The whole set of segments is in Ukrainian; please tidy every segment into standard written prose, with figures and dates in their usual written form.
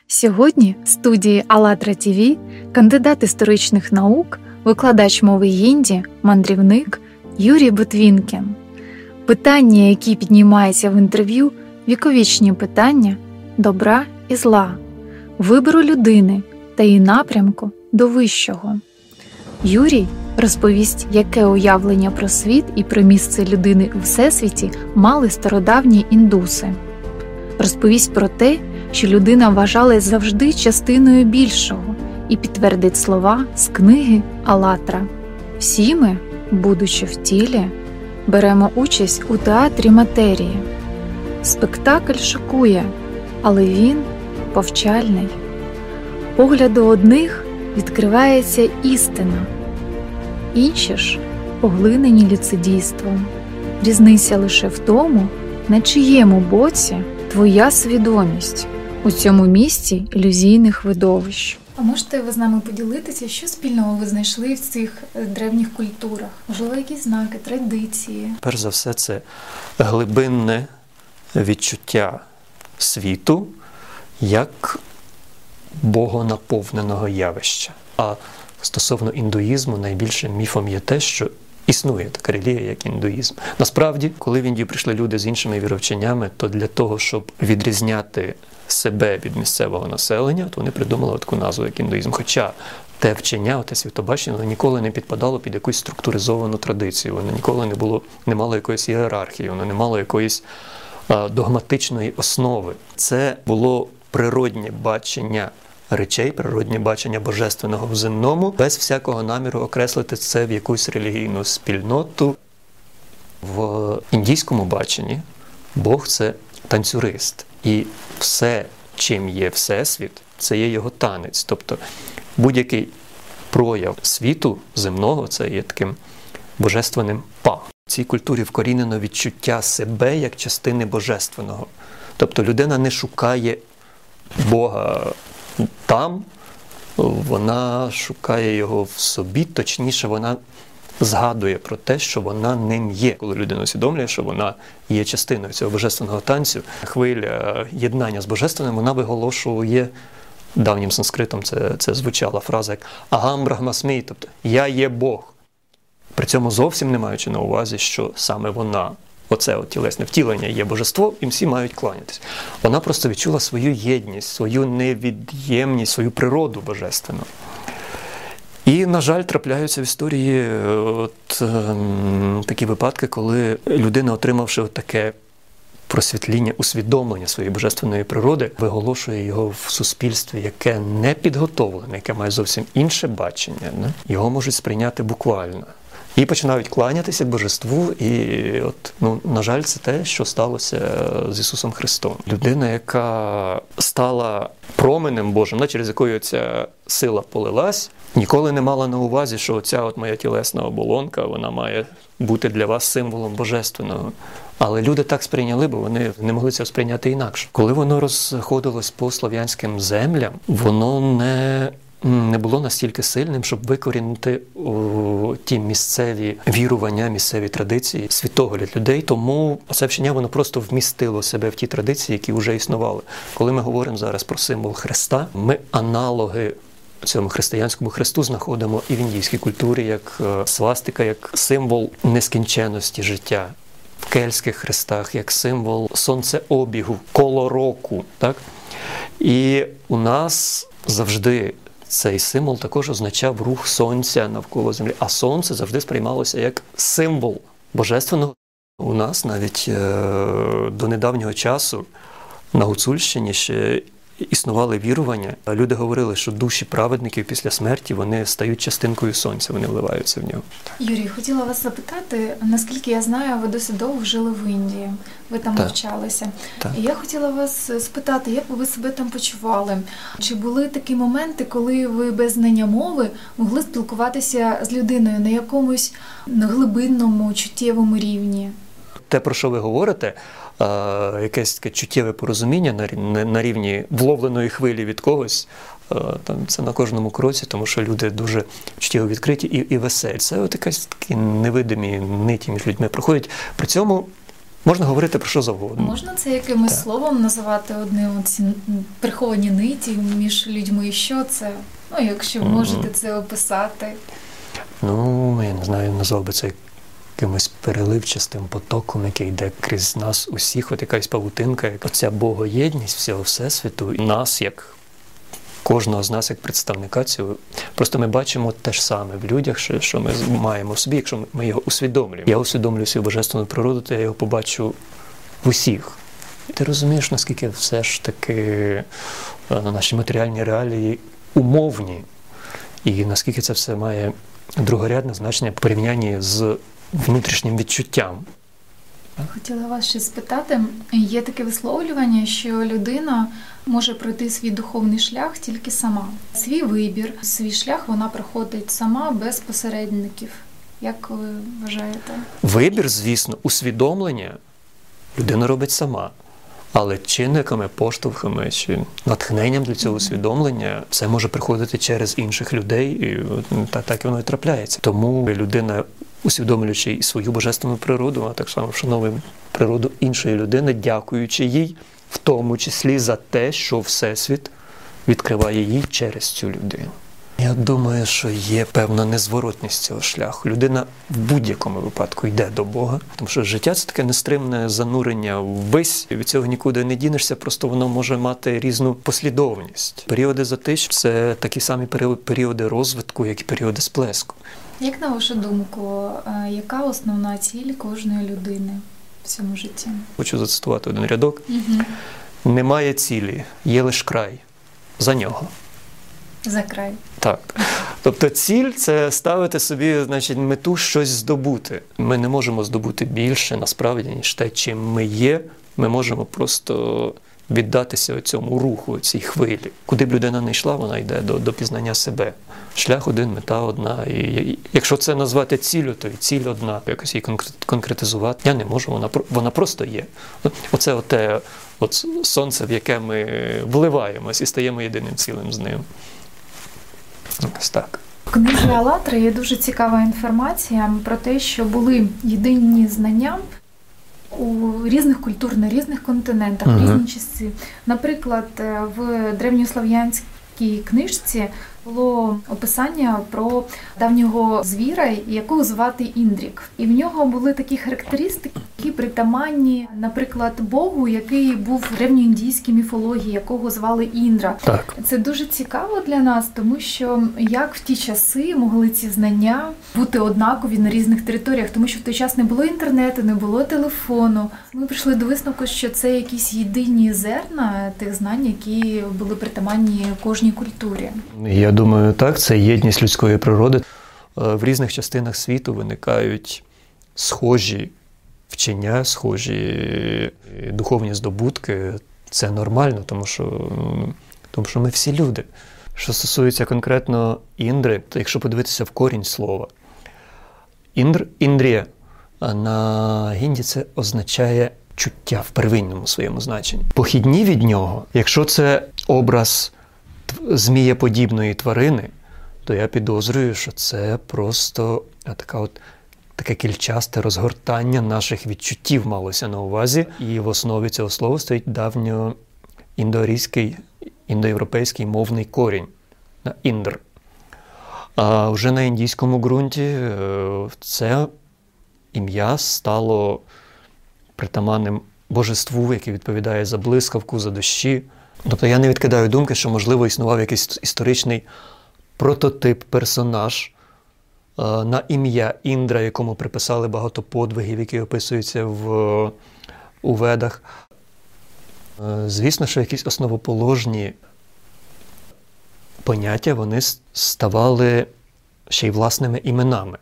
Сьогодні в студії АЛЛАТРА ТВ кандидат історичних наук, викладач мови хінді, мандрівник Юрій Ботвінкін. Питання, які піднімаються в інтерв'ю, віковічні питання добра і зла, вибору людини та її напрямку до вищого. Юрій розповість, яке уявлення про світ і про місце людини у всесвіті мали стародавні індуси. Розповість про те, що людина вважалась завжди частиною більшого, і підтвердить слова з книги «АЛЛАТРА». Всі ми, будучи в тілі, беремо участь у театрі матерії. Спектакль шокує, але він повчальний. Погляду одних відкривається істина, інші ж поглинені ліцедійством. Різниця лише в тому, на чиєму боці твоя свідомість у цьому місті ілюзійних видовищ. А можете ви з нами поділитися, що спільного ви знайшли в цих древніх культурах? Можливо, якісь знаки, традиції? Перш за все, це глибинне відчуття світу як богонаповненого явища. А стосовно індуїзму, найбільшим міфом є те, що існує така релігія, як індуїзм. Насправді, коли в Індію прийшли люди з іншими віровченнями, то для того, щоб відрізняти себе від місцевого населення, то вони придумали таку назву, як індуїзм. Хоча те вчення, те світобачення, воно ніколи не підпадало під якусь структуризовану традицію, воно ніколи не мало якоїсь ієрархії, воно не мало якоїсь догматичної основи. Це було природнє бачення речей, природнє бачення божественного в земному, без всякого наміру окреслити це в якусь релігійну спільноту. В індійському баченні Бог – це танцюрист. І все, чим є Всесвіт, це є його танець. Тобто будь-який прояв світу земного – це є таким божественним па. В цій культурі вкорінено відчуття себе як частини божественного. Тобто людина не шукає Бога там, вона шукає його в собі, точніше, вона згадує про те, що вона ним є. Коли людина усвідомлює, що вона є частиною цього божественного танцю, хвиля єднання з божественним, вона виголошує, давнім санскритом це звучала фраза як «Агам брахмасмі», тобто «Я є Бог». При цьому зовсім не маючи на увазі, що саме вона, оце тілесне втілення є божество, і всі мають кланятися. Вона просто відчула свою єдність, свою невід'ємність, свою природу божественну. І, на жаль, трапляються в історії такі випадки, коли людина, отримавши таке просвітління, усвідомлення своєї божественної природи, виголошує його в суспільстві, яке не підготовлене, яке має зовсім інше бачення. Його можуть сприйняти буквально. І починають кланятися божеству, і, на жаль, це те, що сталося з Ісусом Христом. Людина, яка стала променем Божим, через якою ця сила полилась, ніколи не мала на увазі, що оця моя тілесна оболонка, вона має бути для вас символом божественного. Але люди так сприйняли, бо вони не могли це сприйняти інакше. Коли воно розходилось по слов'янським землям, воно не було настільки сильним, щоб викорінити ті місцеві вірування, місцеві традиції, світогляд людей. Тому це вчення, воно просто вмістило себе в ті традиції, які вже існували. Коли ми говоримо зараз про символ Христа, ми аналоги цьому християнському хресту знаходимо і в індійській культурі, як свастика, як символ нескінченності життя. В кельтських хрестах, як символ сонцеобігу, коло року. Так? І у нас завжди цей символ також означав рух сонця навколо землі. А сонце завжди сприймалося як символ божественного. У нас навіть до недавнього часу на Гуцульщині ще існували вірування. Люди говорили, що душі праведників після смерті, вони стають частинкою сонця, вони вливаються в нього. Юрій, хотіла вас запитати, наскільки я знаю, ви досить довго жили в Індії, ви там навчалися. І я хотіла вас спитати, як ви себе там почували? Чи були такі моменти, коли ви без знання мови могли спілкуватися з людиною на якомусь глибинному, чуттєвому рівні? Те, про що ви говорите, якесь таке чуттєве порозуміння на рівні вловленої хвилі від когось, це на кожному кроці, тому що люди дуже чуттєво відкриті і веселі. Це якась такі невидимі ниті між людьми проходять. При цьому Можна говорити про що завгодно. Можна це якимось словом називати одним ці приховані ниті між людьми? Що це? Ну, якщо можете це описати. Ну, я не знаю, назвав би це якимось переливчастим потоком, який йде крізь нас усіх, от якась павутинка, як оця богоєдність всього Всесвіту, і нас, як кожного з нас, як представника цього. Просто ми бачимо те ж саме в людях, що ми маємо в собі, якщо ми його усвідомлюємо. Я усвідомлюю свою божественну природу, то я його побачу в усіх. І ти розумієш, наскільки все ж таки наші матеріальні реалії умовні, і наскільки це все має другорядне значення в порівнянні з внутрішнім відчуттям. Хотіла вас ще спитати, є таке висловлювання, що людина може пройти свій духовний шлях тільки сама. Свій вибір, свій шлях вона проходить сама, без посередників. Як ви вважаєте? Вибір, звісно, усвідомлення людина робить сама. Але чинниками, поштовхами чи натхненням для цього усвідомлення це може приходити через інших людей, і так воно і трапляється. Тому людина, усвідомлюючи і свою божественну природу, а так само вшановує природу іншої людини, дякуючи їй, в тому числі за те, що Всесвіт відкриває їй через цю людину. Я думаю, що є певна незворотність цього шляху. Людина в будь-якому випадку йде до Бога, тому що життя – це таке нестримне занурення ввись, і від цього нікуди не дінешся, просто воно може мати різну послідовність. Періоди затищ – це такі самі періоди розвитку, як і періоди сплеску. Як на вашу думку, яка основна ціль кожної людини в цьому житті? Хочу зацитувати один рядок. Немає цілі, є лише край. За нього. За край. Так. Тобто ціль – це ставити собі, значить, мету щось здобути. Ми не можемо здобути більше, насправді, ніж те, чим ми є. Ми можемо просто віддатися цьому руху, цій хвилі. Куди б людина не йшла, вона йде до пізнання себе. Шлях один, мета одна. І якщо це назвати ціллю, то і ціль одна. Якось її конкретизувати я не можу, вона просто є. Оце от сонце, в яке ми вливаємось і стаємо єдиним цілим з ним. Ось так. В книзі «АЛЛАТРА» є дуже цікава інформація про те, що були єдині знання у різних культур, на різних континентах, в різні часи. Наприклад, в древньослов'янській книжці було описання про давнього звіра, якого звати Індрік. І в нього були такі характеристики, які притаманні, наприклад, Богу, який був в древньоіндійській міфології, якого звали Індра. Так. Це дуже цікаво для нас, тому що як в ті часи могли ці знання бути однакові на різних територіях, тому що в той час не було інтернету, не було телефону. Ми прийшли до висновку, що це якісь єдині зерна тих знань, які були притаманні кожній культурі. Я думаю, так, це єдність людської природи. В різних частинах світу виникають схожі вчення, схожі духовні здобутки. Це нормально, тому що ми всі люди. Що стосується конкретно Індри, то якщо подивитися в корінь слова, Індрія на гінді це означає чуття в первинному своєму значенні. Похідні від нього, якщо це образ змієподібної тварини, то я підозрюю, що це просто таке кільчасте розгортання наших відчуттів малося на увазі. І в основі цього слова стоїть давньоіндоарійський, індоєвропейський мовний корінь на індр. А вже на індійському ґрунті це ім'я стало притаманним божеству, яке відповідає за блискавку, за дощі. Тобто я не відкидаю думки, що, можливо, існував якийсь історичний прототип, персонаж на ім'я Індра, якому приписали багато подвигів, які описуються у Ведах. Звісно, що якісь основоположні поняття, вони ставали ще й власними іменами.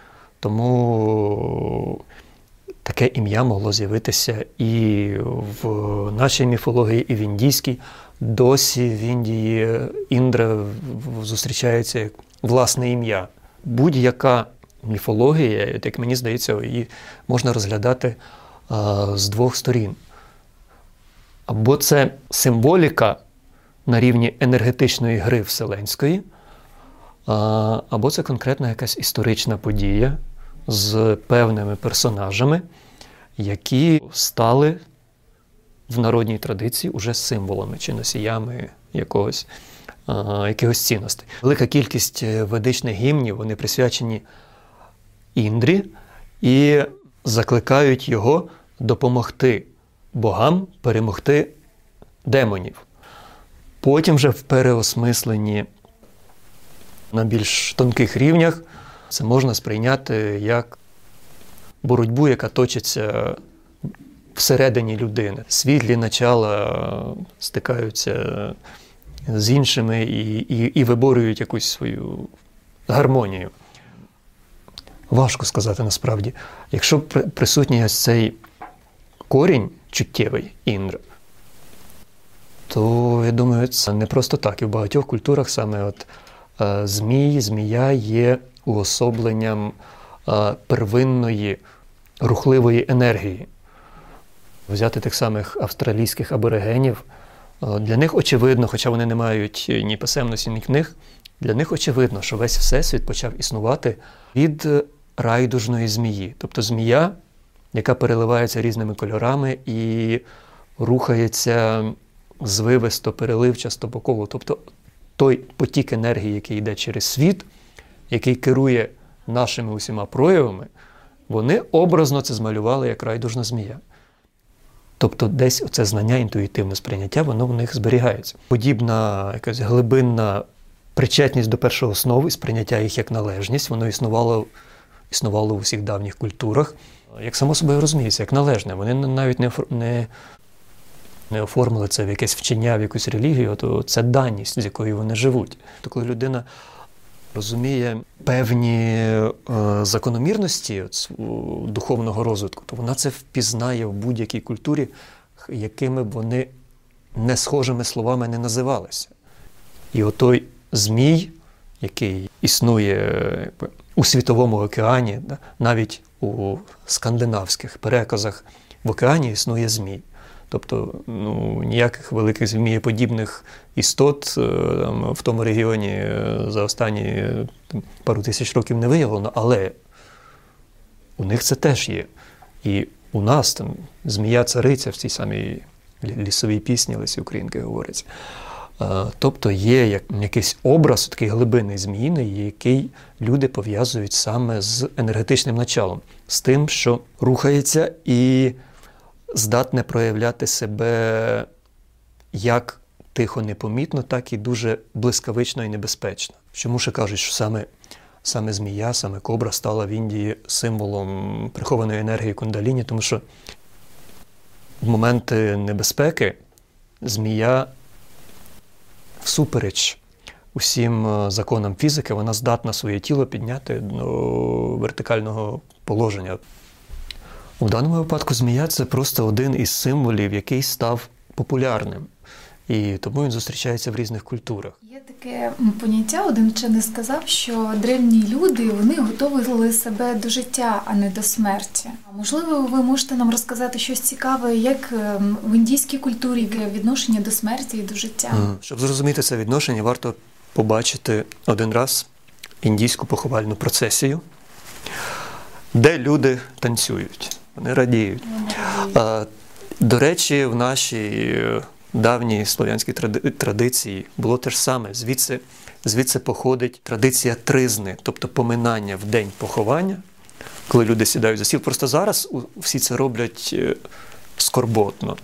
Тому таке ім'я могло з'явитися і в нашій міфології, і в індійській. Досі в Індії Індра зустрічається як власне ім'я. Будь-яка міфологія, як мені здається, її можна розглядати з двох сторін. Або це символіка на рівні енергетичної гри вселенської, або це конкретна якась історична подія з певними персонажами, які стали в народній традиції уже символами чи носіями якихось цінностей. Велика кількість ведичних гімнів, вони присвячені Індрі і закликають його допомогти богам перемогти демонів. Потім вже в переосмисленні на більш тонких рівнях це можна сприйняти як боротьбу, яка точиться всередині людини. Світлі начала стикаються з іншими і виборюють якусь свою гармонію. Важко сказати насправді. Якщо присутній ось цей корінь чуттєвий Індра, то, я думаю, це не просто так. І в багатьох культурах саме змія є уособленням первинної рухливої енергії. Взяти тих самих австралійських аборигенів, для них очевидно, хоча вони не мають ні писемності, ні книг, для них очевидно, що весь Всесвіт почав існувати від райдужної змії. Тобто змія, яка переливається різними кольорами і рухається звивисто, переливчасто по колу. Тобто той потік енергії, який йде через світ, який керує нашими усіма проявами, вони образно це змалювали як райдужна змія. Тобто десь оце знання, інтуїтивне сприйняття, воно в них зберігається. Подібна якась глибинна причетність до першого основ і сприйняття їх як належність, воно існувало в усіх давніх культурах, як само собою розуміється, як належне. Вони навіть не оформили це в якесь вчення, в якусь релігію, то це даність, з якою вони живуть. То коли людина розуміє певні закономірності духовного розвитку, то вона це впізнає в будь-якій культурі, якими б вони не схожими словами не називалися. І отой змій, який існує у Світовому океані, навіть у скандинавських переказах в океані існує змій. Тобто ніяких великих змієподібних істот в тому регіоні за останні пару тисяч років не виявлено, але у них це теж є. І у нас там змія-цариця в цій самій лісовій пісні Лесі Українки говориться. Тобто є якийсь образ, такий глибинний зміїний, який люди пов'язують саме з енергетичним началом, з тим, що рухається і здатне проявляти себе як тихо, непомітно, так і дуже блискавично і небезпечно. Чому ще кажуть, що саме змія, саме кобра стала в Індії символом прихованої енергії кундаліні, тому що в моменти небезпеки змія всупереч усім законам фізики, вона здатна своє тіло підняти до вертикального положення. У даному випадку змія – це просто один із символів, який став популярним. І тому він зустрічається в різних культурах. Є таке поняття, один вчений сказав, що древні люди, вони готували себе до життя, а не до смерті. Можливо, ви можете нам розказати щось цікаве, як в індійській культурі яке відношення до смерті і до життя? Щоб зрозуміти це відношення, варто побачити один раз індійську поховальну процесію, де люди танцюють, вони радіють. До речі, в нашій давній слов'янській традиції було те ж саме. Звідси походить традиція тризни, тобто поминання в день поховання, коли люди сідають за стіл. Просто зараз всі це роблять скорботно.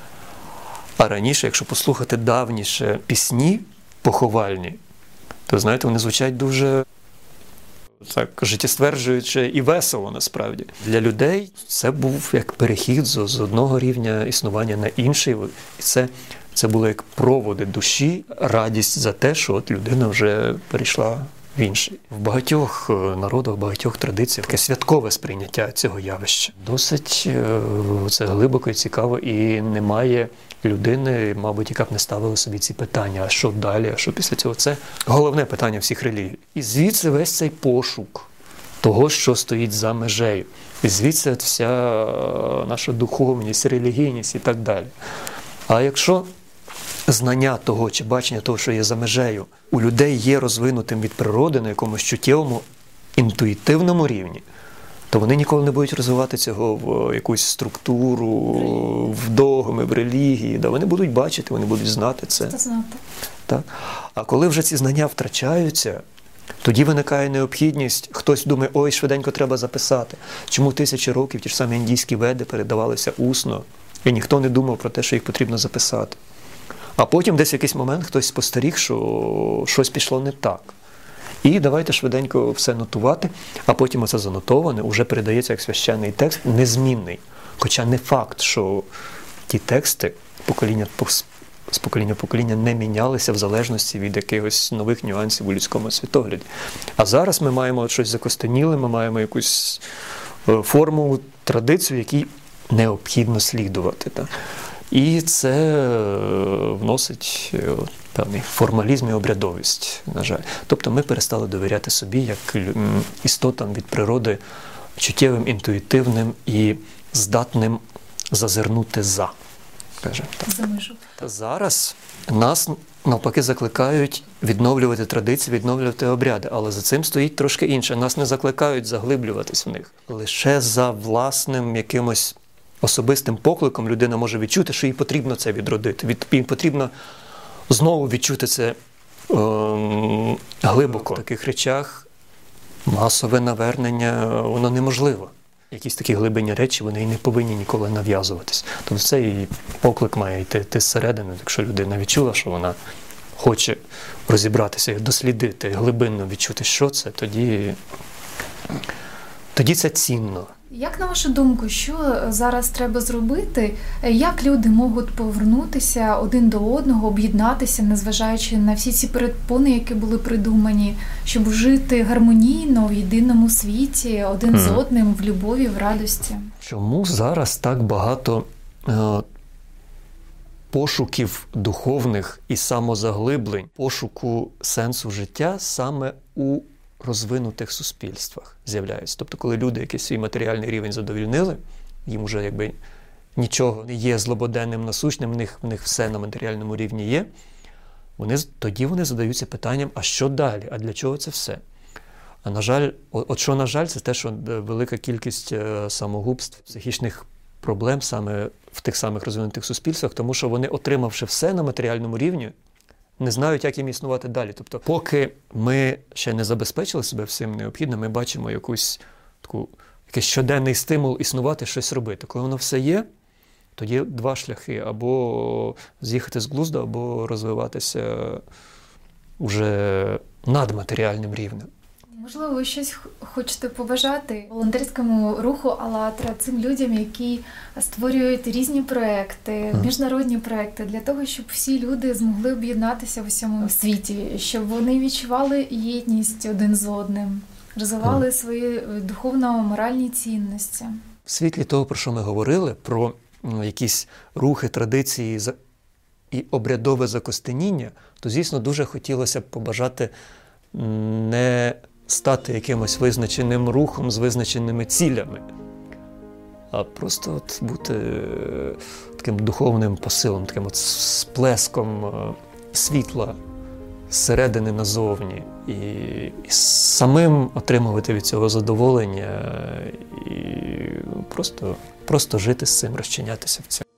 А раніше, якщо послухати давніше пісні поховальні, то, знаєте, вони звучать дуже так життєстверджуюче і весело, насправді. Для людей це був як перехід з одного рівня існування на інший. І це було як проводи душі, радість за те, що от людина вже перейшла в інший. В багатьох народах, в багатьох традиціях таке святкове сприйняття цього явища. Досить це глибоко і цікаво, і немає людини, мабуть, яка б не ставила собі ці питання, а що далі, а що після цього. Це головне питання всіх релігій. І звідси весь цей пошук того, що стоїть за межею. І звідси вся наша духовність, релігійність і так далі. А якщо знання того чи бачення того, що є за межею, у людей є розвинутим від природи на якомусь чуттєвому, інтуїтивному рівні, то вони ніколи не будуть розвивати цього в якусь структуру, в догми, в релігії. Да, вони будуть бачити, вони будуть знати це. Так. А коли вже ці знання втрачаються, тоді виникає необхідність, хтось думає, ой, швиденько треба записати. Чому тисячі років ті ж самі індійські веди передавалися усно, і ніхто не думав про те, що їх потрібно записати. А потім десь в якийсь момент хтось спостеріг, що щось пішло не так. І давайте швиденько все нотувати, а потім оце занотоване вже передається як священний текст, незмінний. Хоча не факт, що ті тексти з покоління в покоління не мінялися в залежності від якихось нових нюансів у людському світогляді. А зараз ми маємо щось закостеніле, ми маємо якусь форму, традицію, якій необхідно слідувати. Так? І це вносить певний формалізм і обрядовість, на жаль. Тобто ми перестали довіряти собі як істотам від природи чуттєвим, інтуїтивним і здатним зазирнути за. Зараз нас навпаки закликають відновлювати традиції, відновлювати обряди, але за цим стоїть трошки інше. Нас не закликають заглиблюватись в них. Лише за власним якимось особистим покликом людина може відчути, що їй потрібно це відродити. Їй потрібно знову відчути це глибоко. В таких речах масове навернення, воно неможливо. Якісь такі глибинні речі, вони і не повинні ніколи нав'язуватись. Тобто цей поклик має йти зсередини. Якщо людина відчула, що вона хоче розібратися, дослідити, глибинно відчути, що це, тоді це цінно. Як, на вашу думку, що зараз треба зробити? Як люди можуть повернутися один до одного, об'єднатися, незважаючи на всі ці перепони, які були придумані, щоб жити гармонійно в єдиному світі, один з одним, в любові, в радості? Чому зараз так багато пошуків духовних і самозаглиблень, пошуку сенсу життя саме у розвинутих суспільствах з'являються. Тоді, коли люди якийсь свій матеріальний рівень задовільнили, їм вже якби нічого не є злободенним, насущним, в них все на матеріальному рівні є, тоді вони задаються питанням, а що далі? А для чого це все? А на жаль, на жаль, це те, що велика кількість самогубств, психічних проблем саме в тих самих розвинутих суспільствах, тому що вони, отримавши все на матеріальному рівні, не знають, як їм існувати далі. Тобто, поки ми ще не забезпечили себе всім необхідним, ми бачимо якийсь щоденний стимул існувати, щось робити. Коли воно все є, тоді два шляхи. Або з'їхати з глузду, або розвиватися вже над матеріальним рівнем. Можливо, ви щось хочете побажати волонтерському руху «АЛЛАТРА», цим людям, які створюють різні проекти, міжнародні проекти, для того, щоб всі люди змогли об'єднатися в усьому світі, щоб вони відчували єдність один з одним, розвивали свої духовно-моральні цінності. В світлі того, про що ми говорили, про якісь рухи, традиції і обрядове закостеніння, то, звісно, дуже хотілося б побажати не стати якимось визначеним рухом з визначеними цілями, а просто бути таким духовним посилом, таким сплеском світла зсередини назовні. І самим отримувати від цього задоволення і просто жити з цим, розчинятися в цьому.